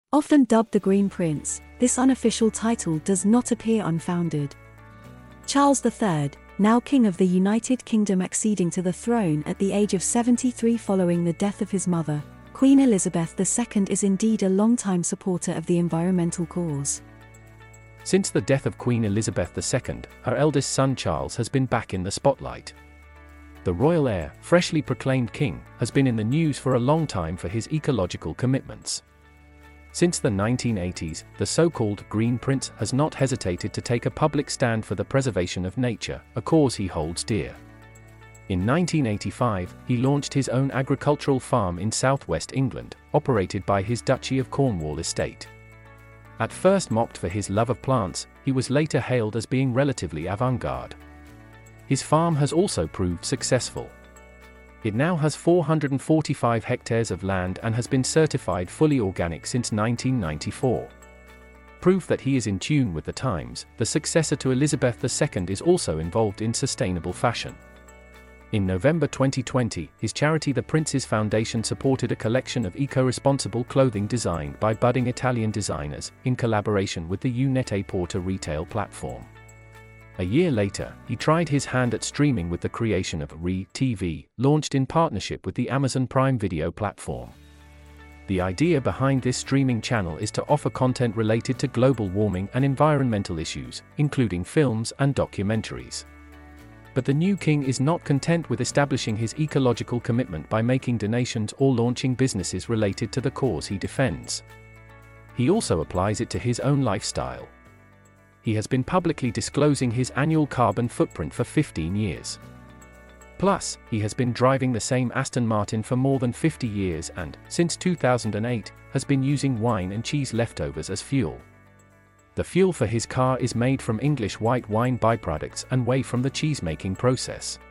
Often dubbed the Green Prince, this unofficial title does not appear unfounded. Charles III, now King of the United Kingdom, acceding to the throne at the age of 73 following the death of his mother, Queen Elizabeth II, is indeed a long-time supporter of the environmental cause. Since the death of Queen Elizabeth II, her eldest son Charles has been back in the spotlight. The royal heir, freshly proclaimed king, has been in the news for a long time for his ecological commitments. Since the 1980s, the so-called Green Prince has not hesitated to take a public stand for the preservation of nature, a cause he holds dear. In 1985, he launched his own agricultural farm in southwest England, operated by his Duchy of Cornwall estate. At first mocked for his love of plants, he was later hailed as being relatively avant-garde. His farm has also proved successful. It now has 445 hectares of land and has been certified fully organic since 1994. Proof that he is in tune with the times, the successor to Elizabeth II is also involved in sustainable fashion. In November 2020, his charity The Prince's Foundation supported a collection of eco-responsible clothing designed by budding Italian designers, in collaboration with the Net-a-Porter retail platform. A year later, he tried his hand at streaming with the creation of Re-TV, launched in partnership with the Amazon Prime Video platform. The idea behind this streaming channel is to offer content related to global warming and environmental issues, including films and documentaries. But the new king is not content with establishing his ecological commitment by making donations or launching businesses related to the cause he defends. He also applies it to his own lifestyle. He has been publicly disclosing his annual carbon footprint for 15 years. Plus, he has been driving the same Aston Martin for more than 50 years and, since 2008, has been using wine and cheese leftovers as fuel. The fuel for his car is made from English white wine byproducts and whey from the cheese-making process.